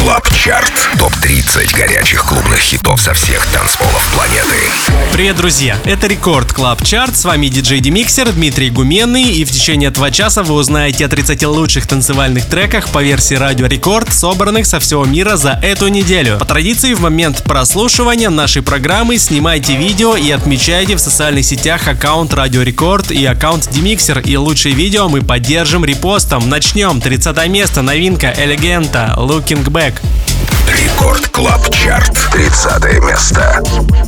Клаб Чарт. Топ-30 горячих клубных хитов со всех танцполов планеты. Привет, друзья! Это Рекорд Клаб Чарт. С вами диджей Демиксер Дмитрий Гуменный. И в течение этого часа вы узнаете о 30 лучших танцевальных треках по версии Радио Рекорд, собранных со всего мира за эту неделю. По традиции, в момент прослушивания нашей программы снимайте видео и отмечайте в социальных сетях аккаунт Радио Рекорд и аккаунт Демиксер. И лучшие видео мы поддержим репостом. Начнем. 30 место. Новинка Элегента Looking Back. Рекорд Клаб Чарт. 30 место.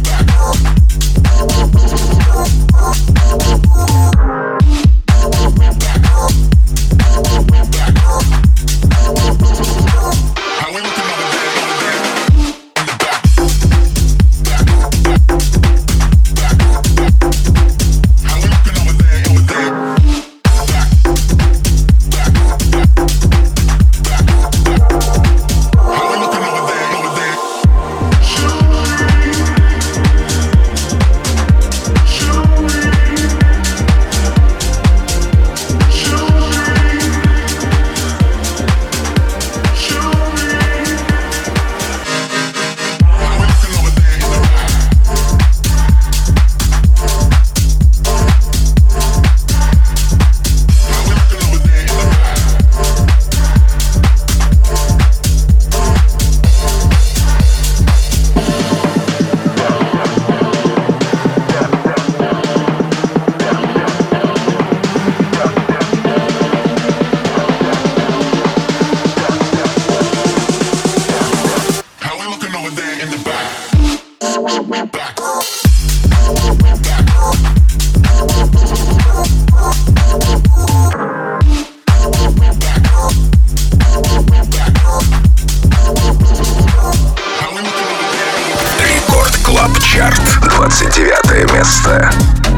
Чарт. 29 место.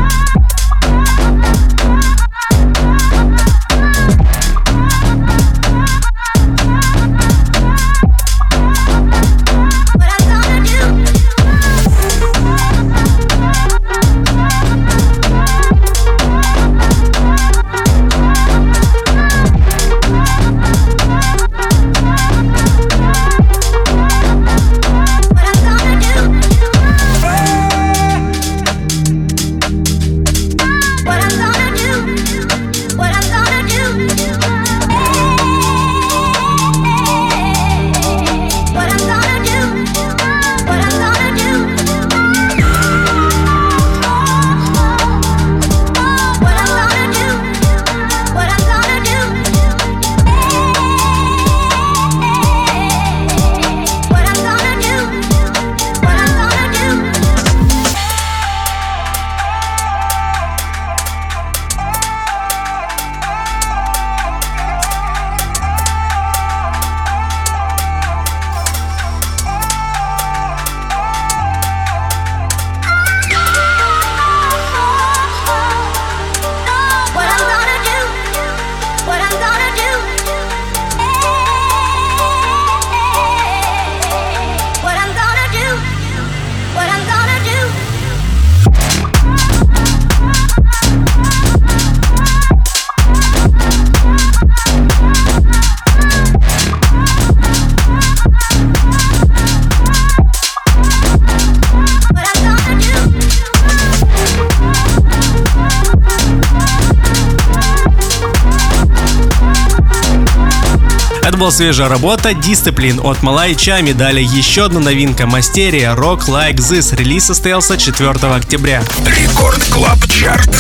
Была свежая работа Discipline от Малай Чами. Далее еще одна новинка Мастерия Rock Like This. Релиз состоялся 4 октября. Рекорд Клаб Чарт.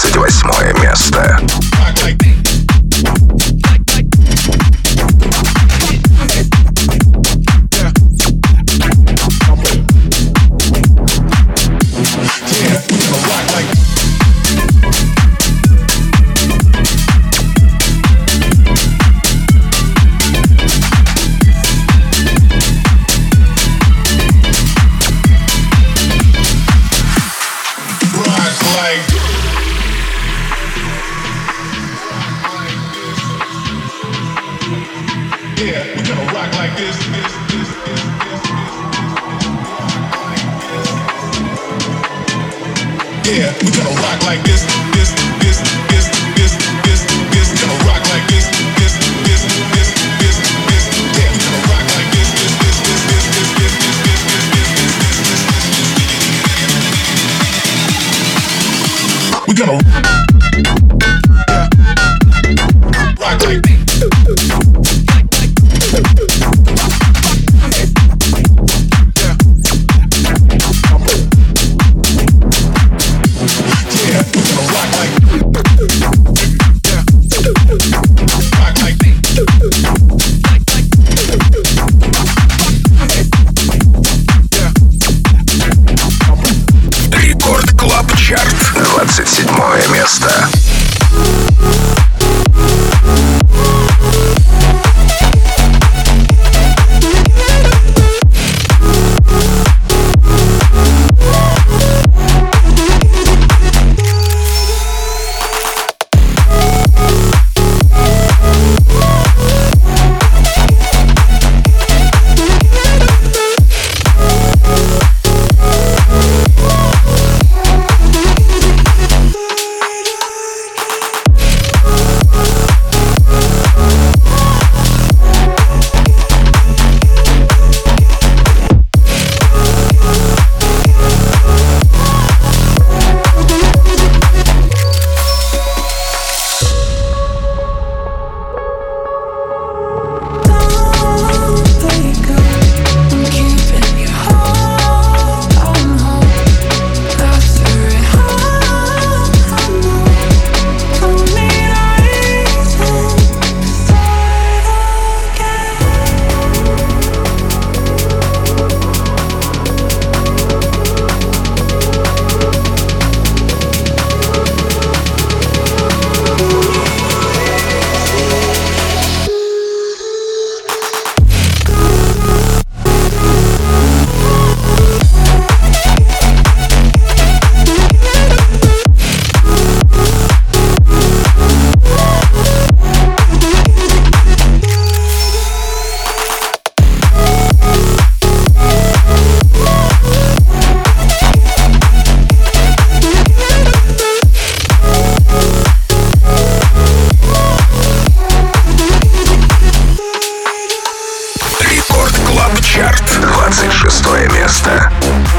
28 место. Yeah, we gonna rock like this, this, this, this, this, this, this. We gonna rock like this, this, this, this, this, this. Yeah, we gonna rock like this. Клаб Чарт, 26 место.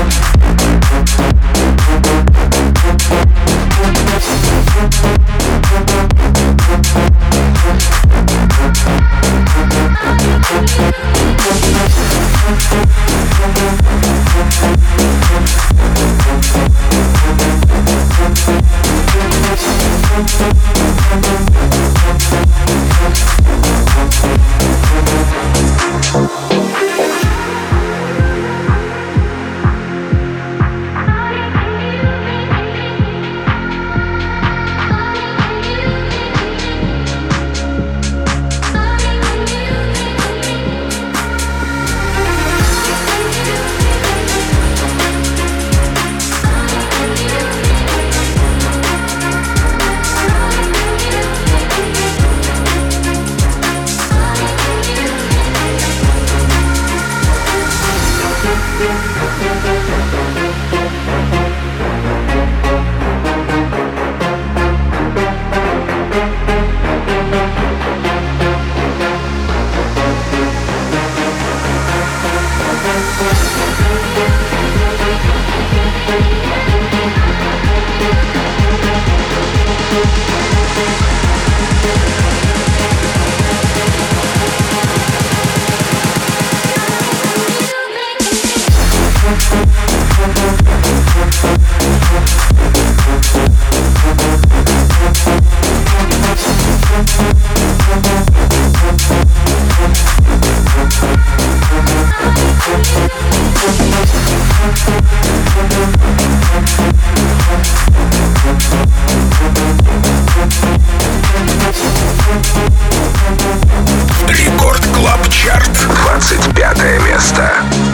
Рекорд Клаб Чарт, 25 место.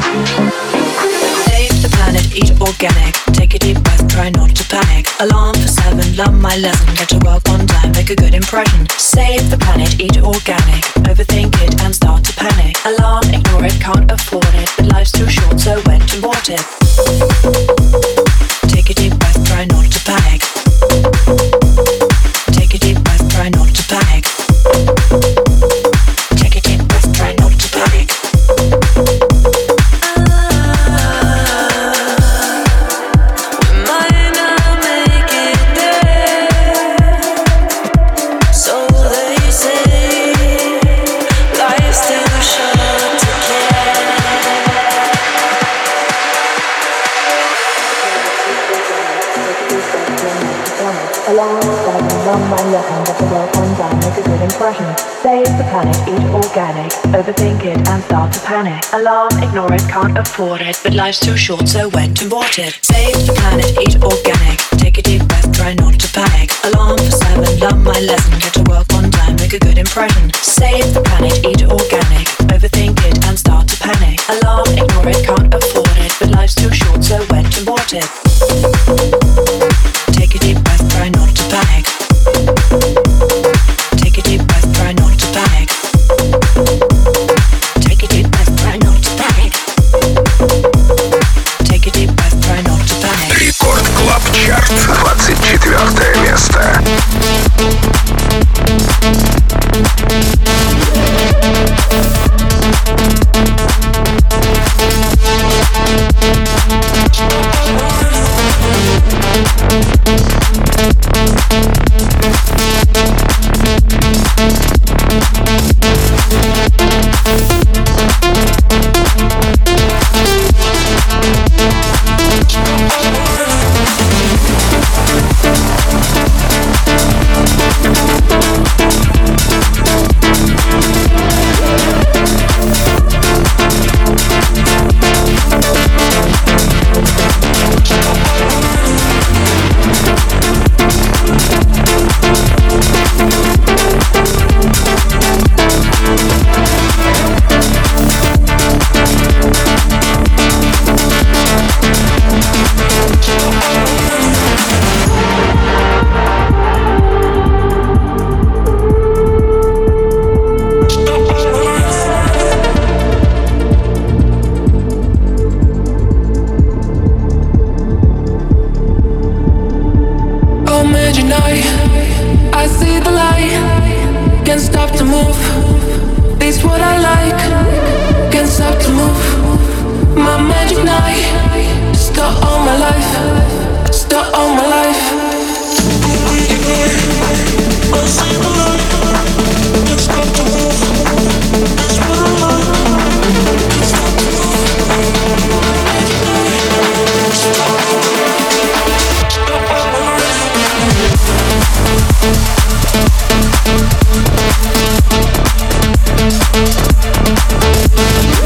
Save the planet, eat organic. Take a deep breath, try not to panic. Alarm for 7, learn my lesson. Get to work on time, make a good impression. Save the planet, eat organic. Overthink it and start to panic. Alarm, ignore it, can't afford it. But life's too short, so went and bought it. Take a deep breath, try not to panic. Take a deep breath, try not to panic. Take a deep breath, try not to panic. Save the planet, eat organic. Overthink it and start to panic. Alarm, ignore it, can't afford it. But life's too short, so went and bought it. Save the planet, eat organic. Take a deep breath, try not to panic. Alarm for 7, learn my lesson. Get to work on time, make a good impression. Save the planet, eat organic. Overthink it and start to panic. Alarm, ignore it, can't afford it. But life's too short, so went and bought it. Take a deep breath, try not to panic. Take a deep breath, try not to panic. Take a deep breath, try not to panic. Take a deep breath, try not to panic. Рекорд Клаб Чарт, 24 место.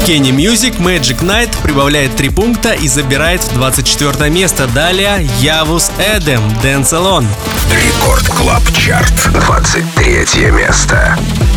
Kenny Music Magic Night прибавляет 3 пункта и забирает в 24 место. Далее Явус Эдем Dance Alone. Рекорд Клаб Чарт, 23 место.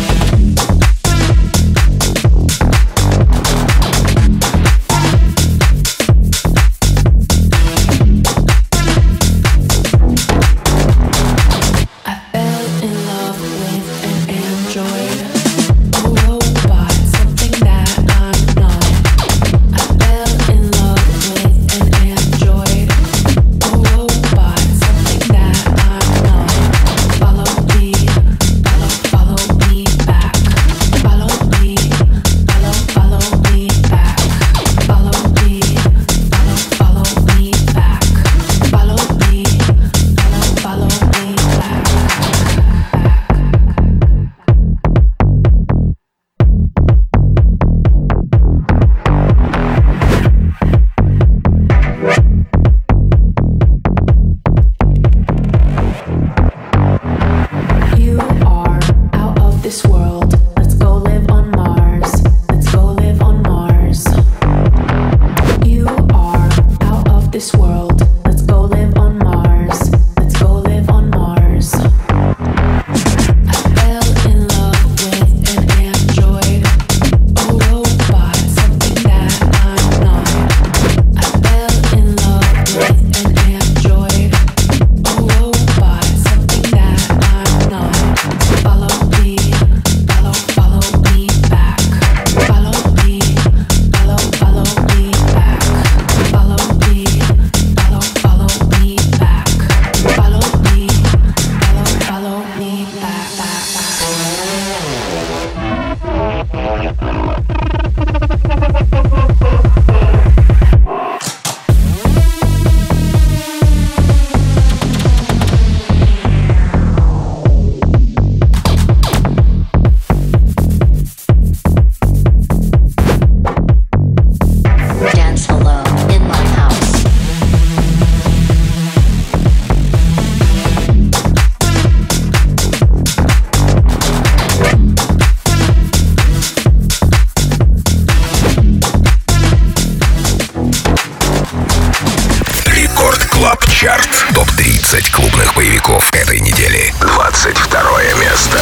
Топ-30 клубных боевиков этой недели. 22 место.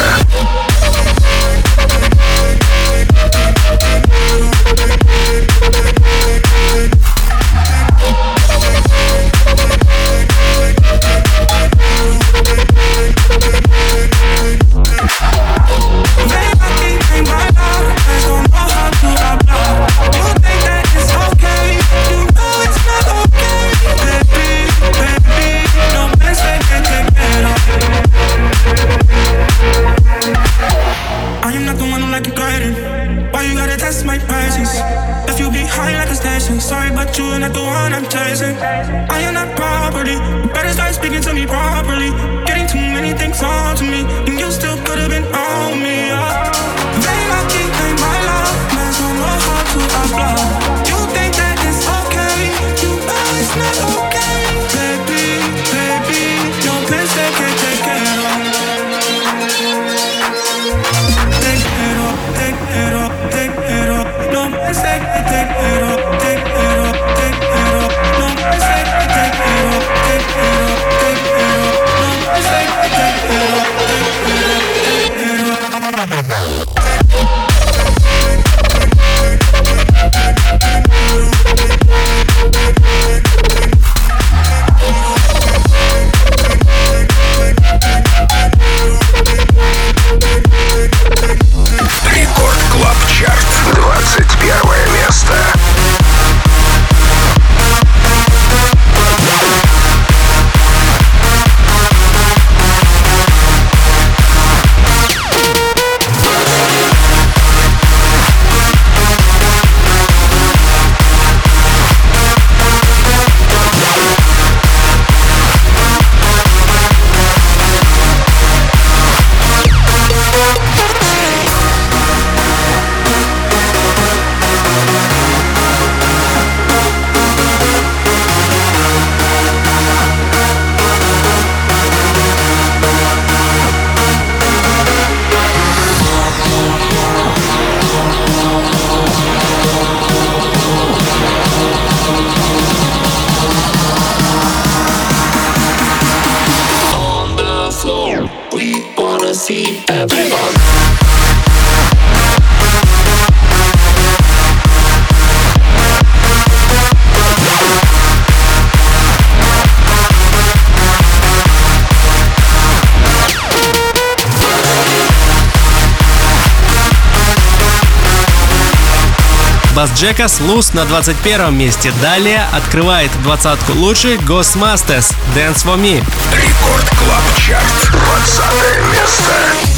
Sorry, but you're not the one I'm chasing. I am not property. You better start speaking to me properly. Getting too many things on to me, and you still could have been on me. Very lucky, ain't my love. Man, don't know how to apply. You think that it's okay? You know it's not okay, baby, baby. No place they can take care of. Take it up, take it up, take it up. No place they can take it up. Take it up. Бас Джекас «Loose» на 21 месте. Далее открывает двадцатку лучших Ghost Masters «Dance For Me». Рекорд Клаб Чарт, 20 место.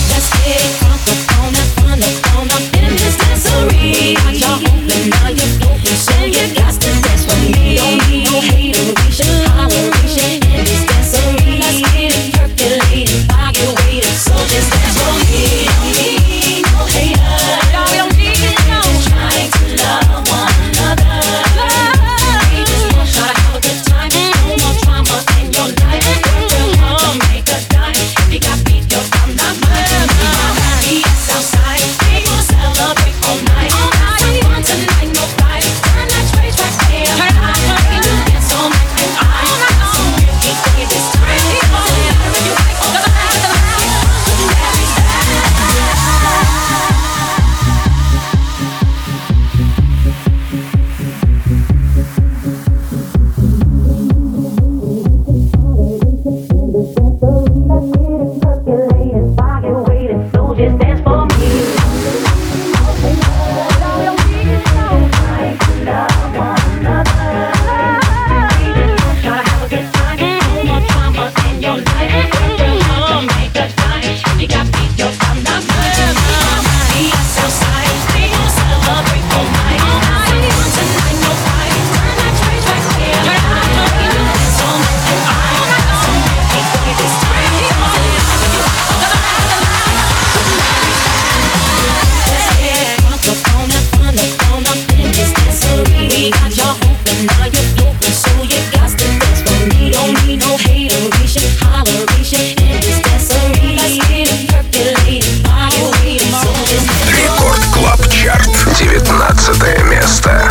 Рекорд Клаб Чарт, 19 место.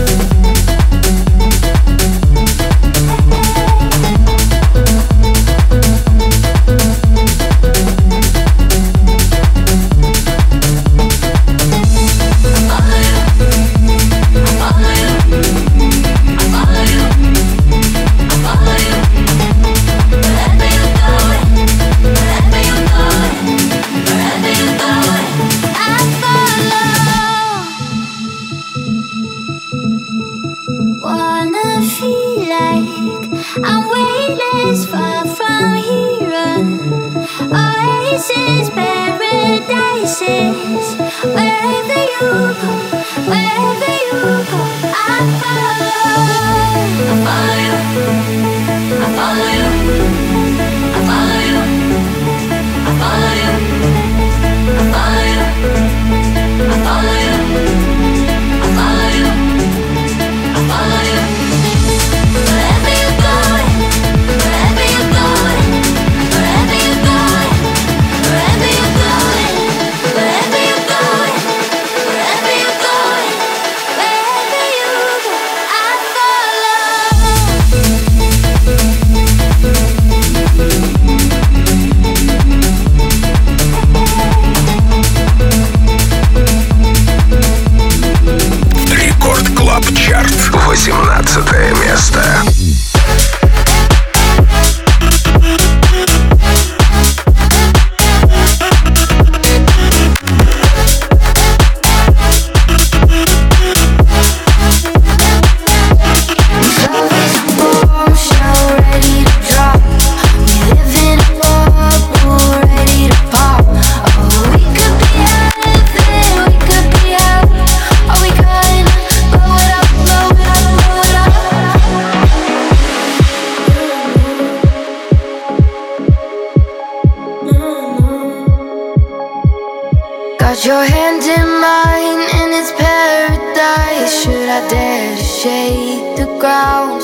Your hand in mine and it's paradise. Should I dare to shake the ground?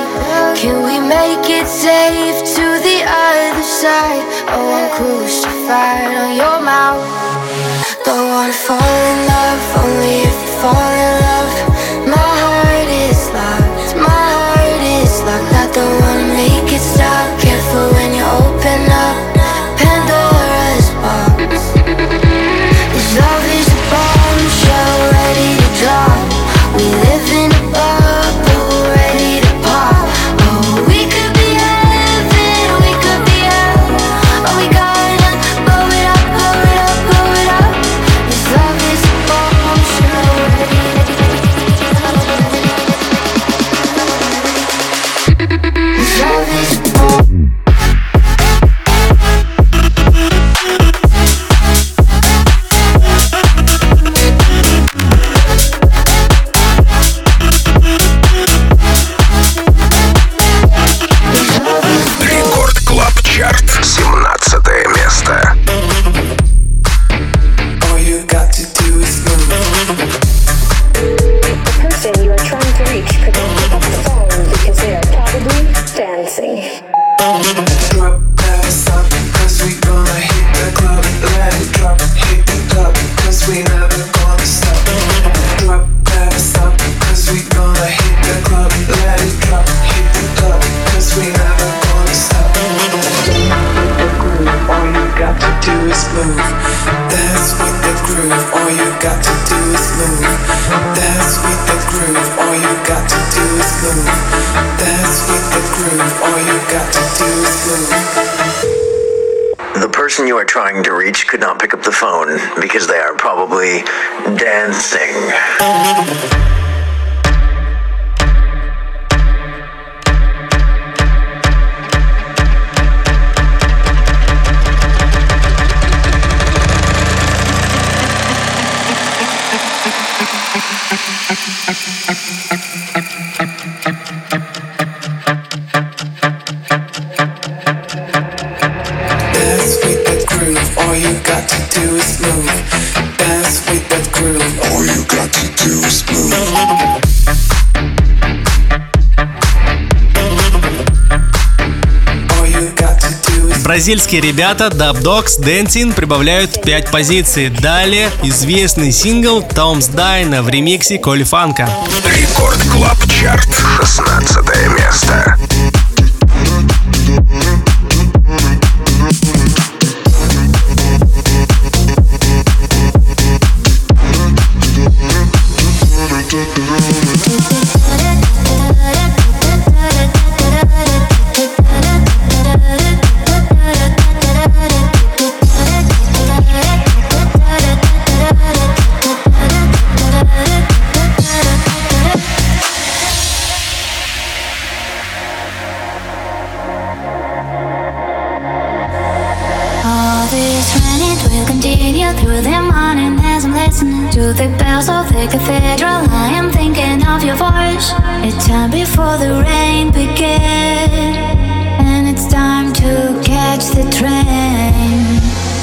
Can we make it safe to the other side? I want crucified on your mouth. Don't wanna fall in love, only if you fall in love. My heart is locked, my heart is locked. I don't wanna make it stop. Careful when you open up Pandora's box. up the phone because they are probably dancing. Бразильские ребята Dub Dogs Dancing прибавляют 5 позиций. Далее известный сингл Tom's Dine в ремиксе Коли Фанка. Рекорд Клаб Чарт, 16 место. Through the morning as I'm listening to the bells of the cathedral, I am thinking of your voice. It's time before the rain begins, and it's time to catch the train.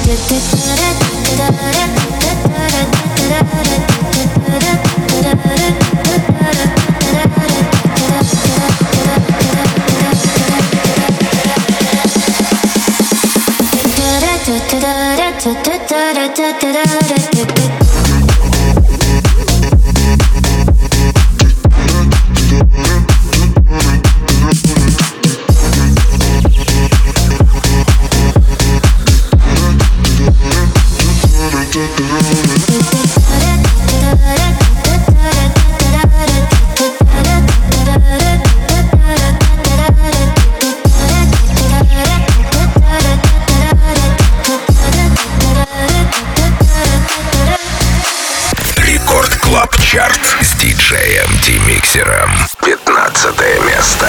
Чарт с диджеем D-Mixer'ом. 15 место.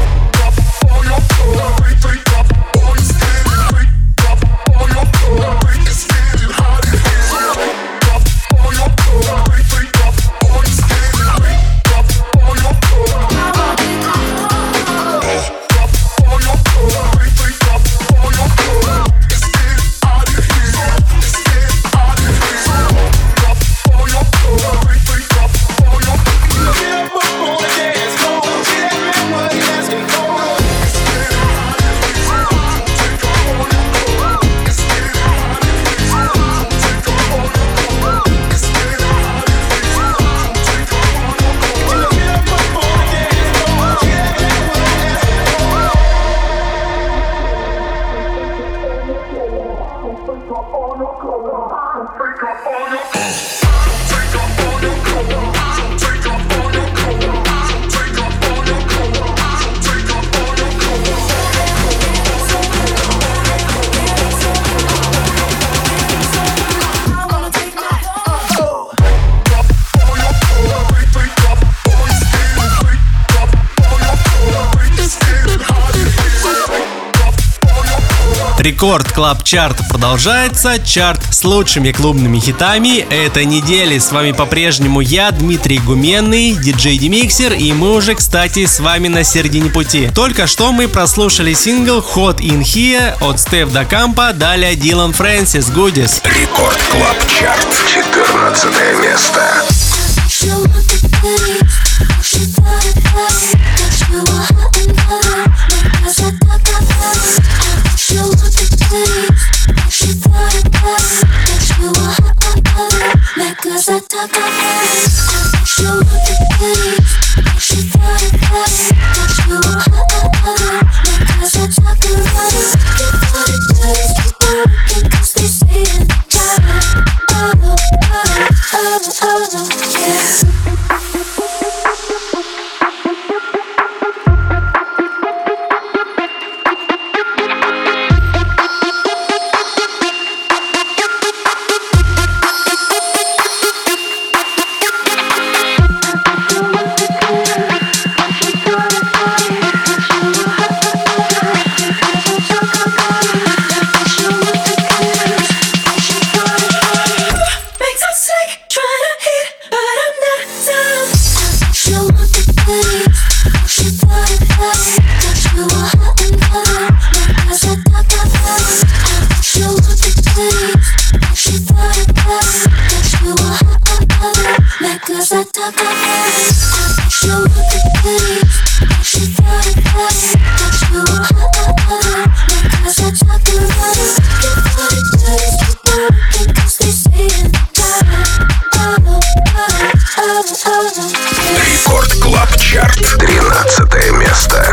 Рекорд Клаб Чарт продолжается. Чарт с лучшими клубными хитами этой недели. С вами по-прежнему я, Дмитрий Гуменный, диджей D-Mixer, и мы уже, кстати, с вами на середине пути. Только что мы прослушали сингл Hot In Here от Стеф Да Кампа, далее Дилан Фрэнсис Goodies. Рекорд Клаб Чарт, 14 место. Oh Рекорд Клаб Чарт, 13 место.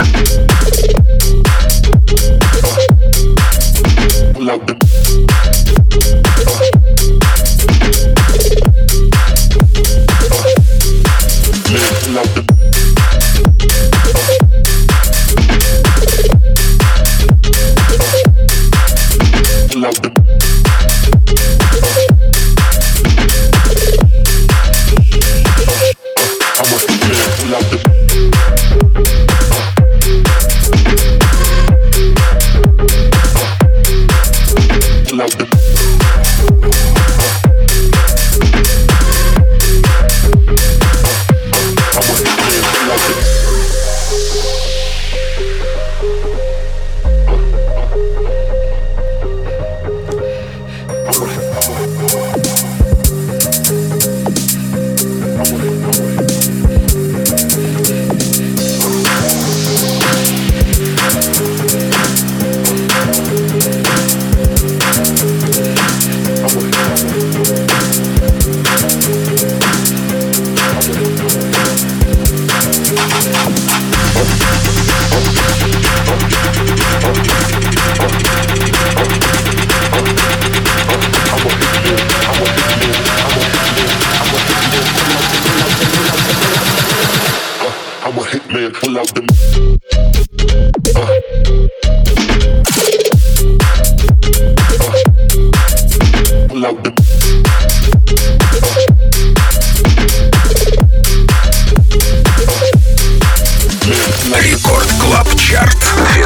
Рекорд Клаб Чарт,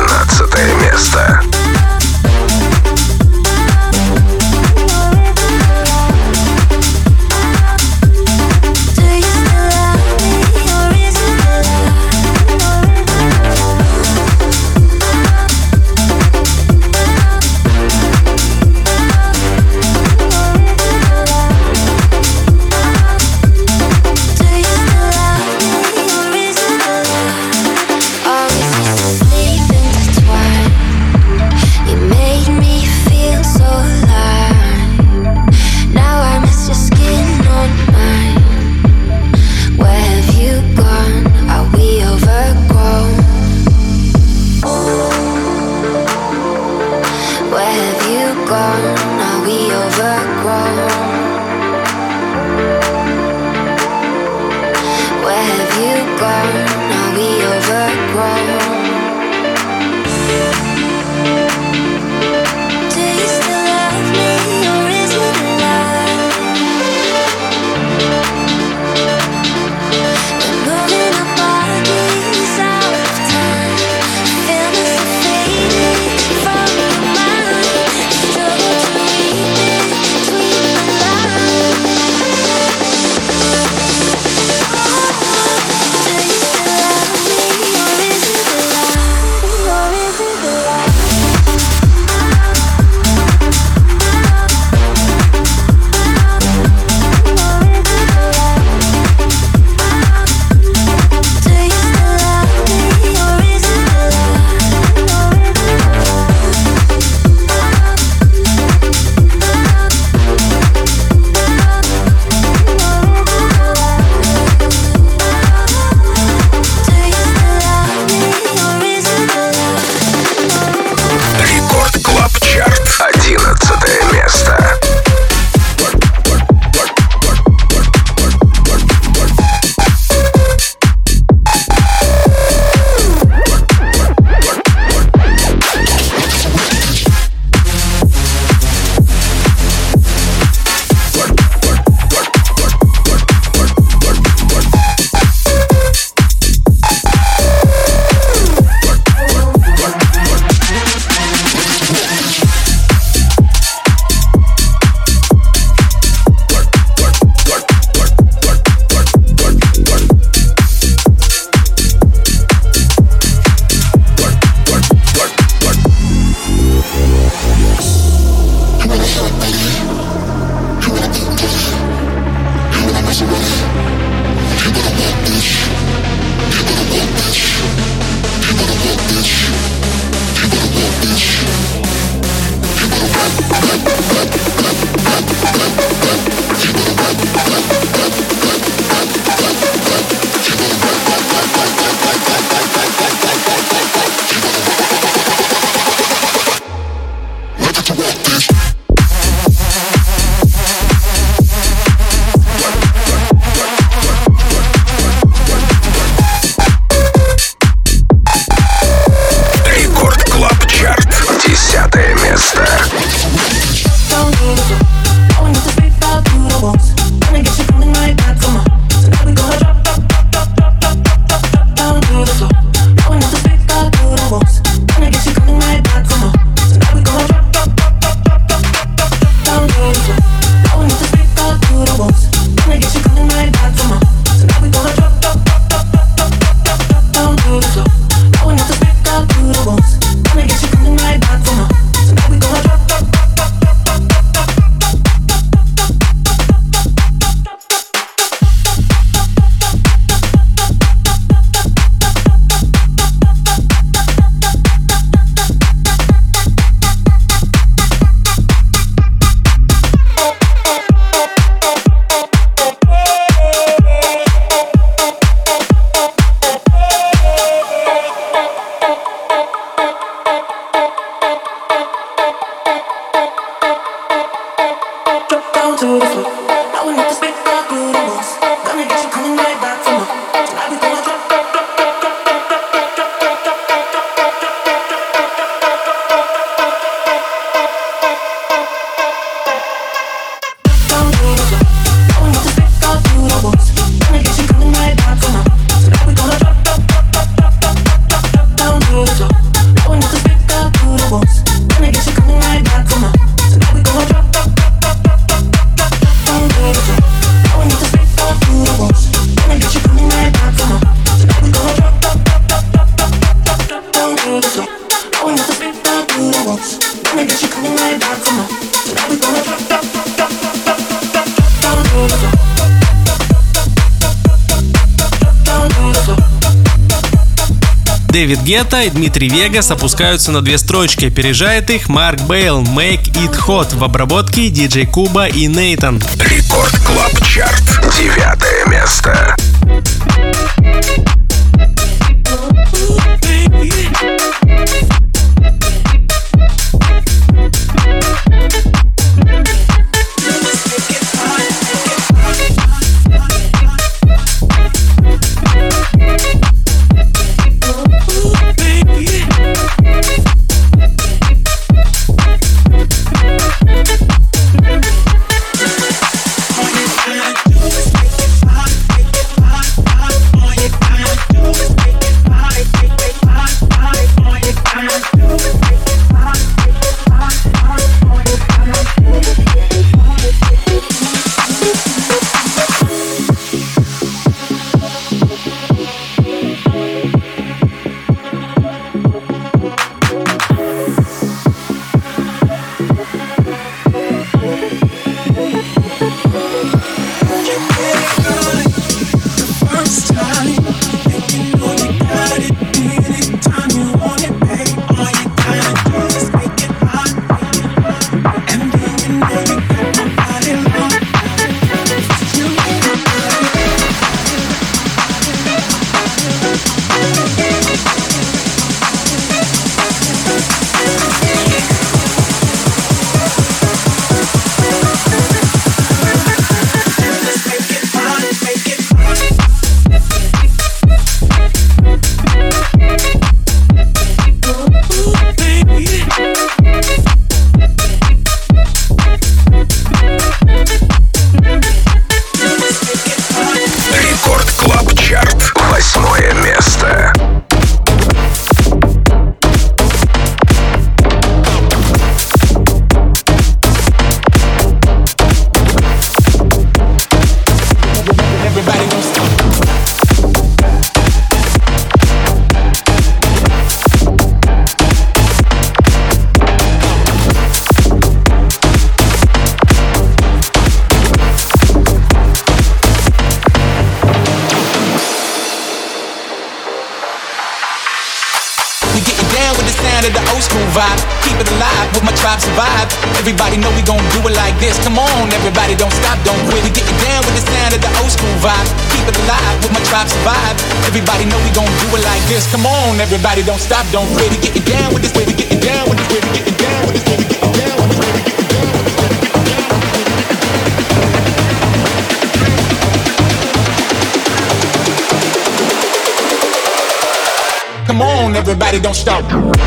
12 место. Is it Дэвид Гетта и Дмитрий Вегас опускаются на 2 строчки, опережает их Марк Бейл, Make It Hot в обработке диджей Куба и Нейтан. Рекорд Клаб Чарт, 9 место. Everybody know we gon' do it like this. Come on, everybody don't stop, don't quit. We getting down with the sound of the old school vibe. Keep it alive with my tribe survive. Everybody know we gon' do it like this. Come on, everybody don't stop, don't quit. We getting down with this way, we getting down with this way, we getting down with this way, we getting down with this way, we getting down with this way, we getting down with this way. Come on, everybody don't stop.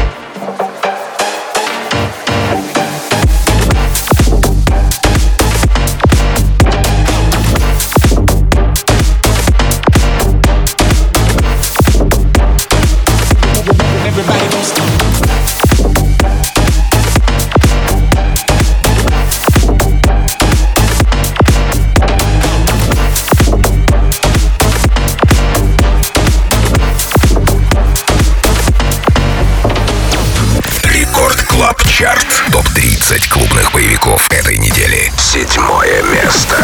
Топ-30 клубных боевиков этой недели. 7 место.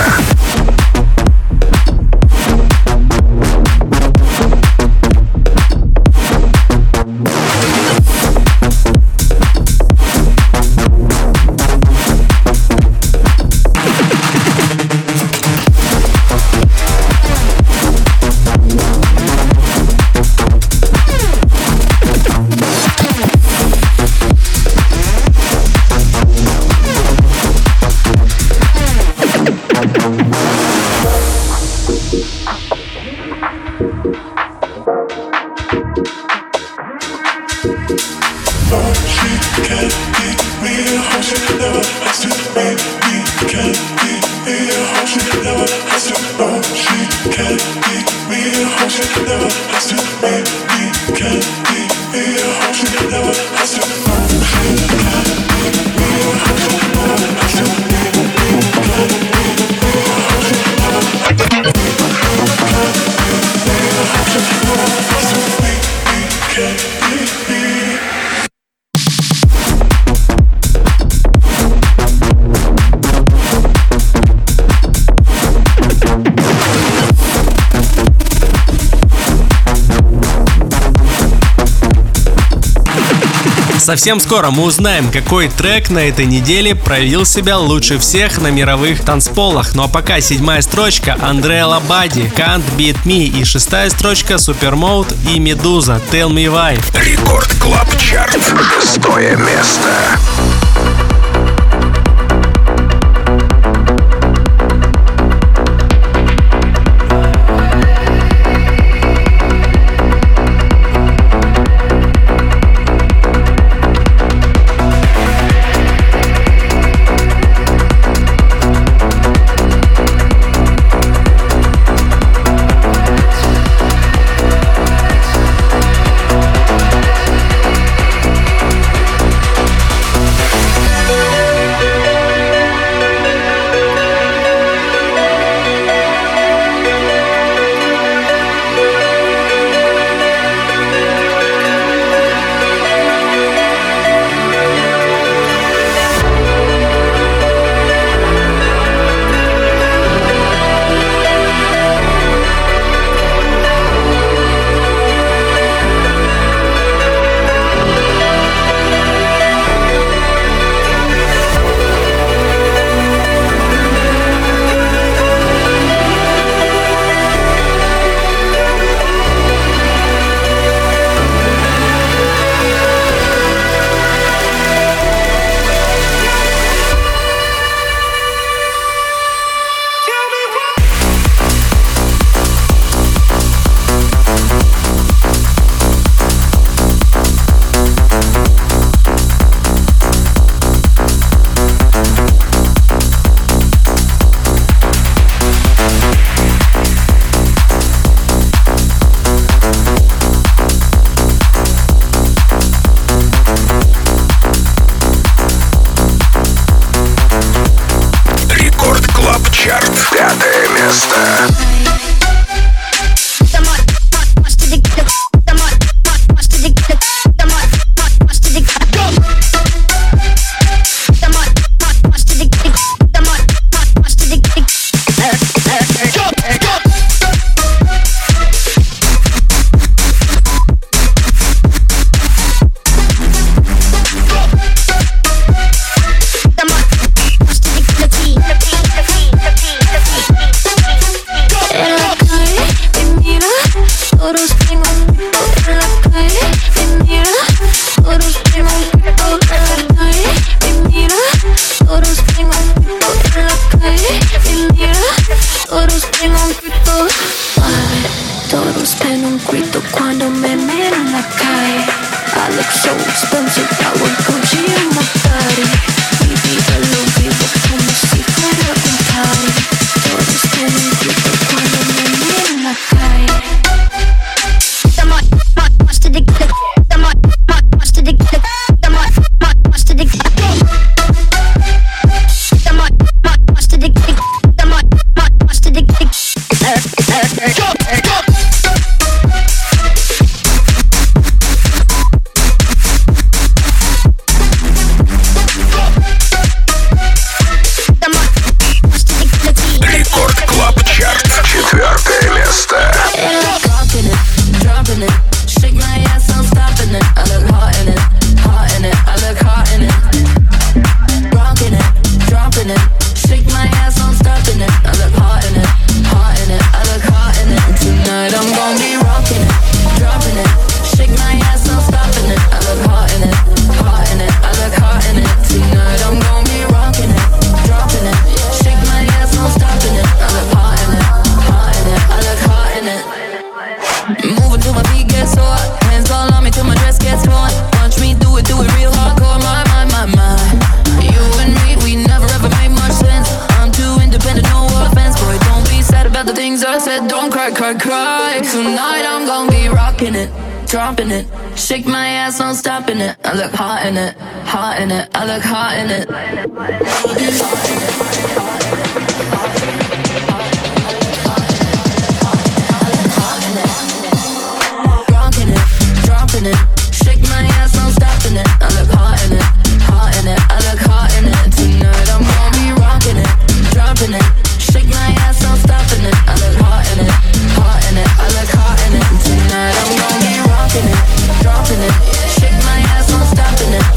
Совсем скоро мы узнаем, какой трек на этой неделе проявил себя лучше всех на мировых танцполах. Ну а пока 7-я строчка Андреа Лабади Can't Beat Me и 6-я строчка Supermode и Медуза Tell Me Why. Рекорд Клаб Чарт. 6-е место. Dropping it, shake my ass, no stopping it. I look hot in it, hot in it. I look hot in it. Rocking it, dropping it, shake my ass, no stopping it. I look hot in it, hot in it. I look hot in it. Tonight I'm gonna be rocking it, dropping it, shake my ass, no stopping it. I look hot in it, hot in it. I look hot in it. Tonight I'm gonna be rocking it, dropping it, shake my ass, no stopping it.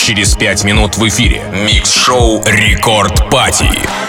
через 5 минут в эфире. Микс-шоу Рекорд Пати.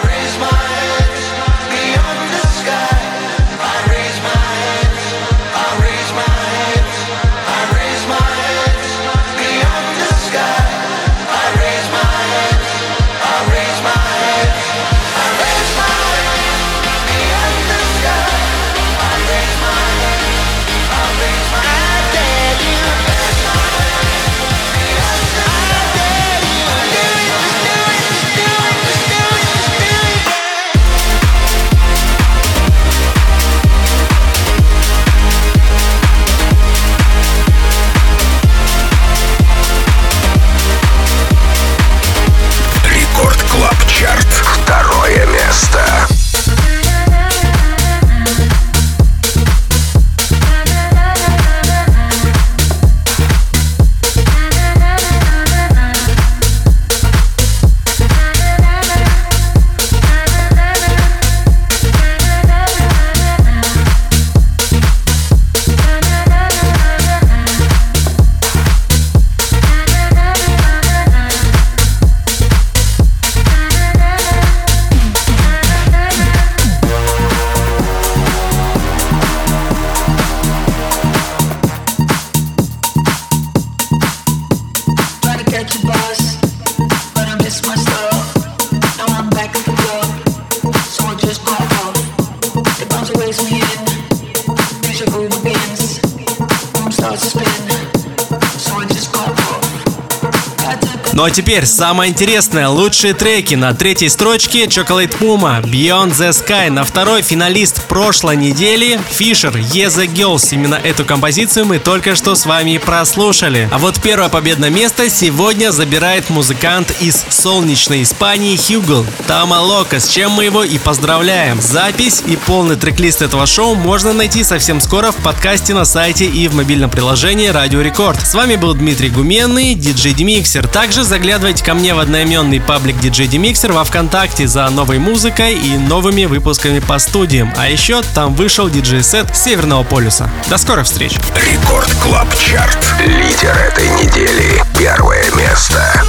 Ну а теперь самое интересное, лучшие треки. На третьей строчке Chocolate Puma, Beyond the Sky. На второй финалист прошлой недели Fisher, Yeah the Girls. Именно эту композицию мы только что с вами прослушали. А вот первое победное место сегодня забирает музыкант из солнечной Испании Hugo, Tama Loca, с чем мы его и поздравляем. Запись и полный трек-лист этого шоу можно найти совсем скоро в подкасте на сайте и в мобильном приложении Радио Рекорд. С вами был Дмитрий Гуменный, DJ D-Mixer. Также заглядывайте ко мне в одноименный паблик DJ D-Mixer во ВКонтакте за новой музыкой и новыми выпусками по студиям. А еще там вышел диджей-сет Северного полюса. До скорых встреч! Рекорд Клаб Чарт. Лидер этой недели. Первое место.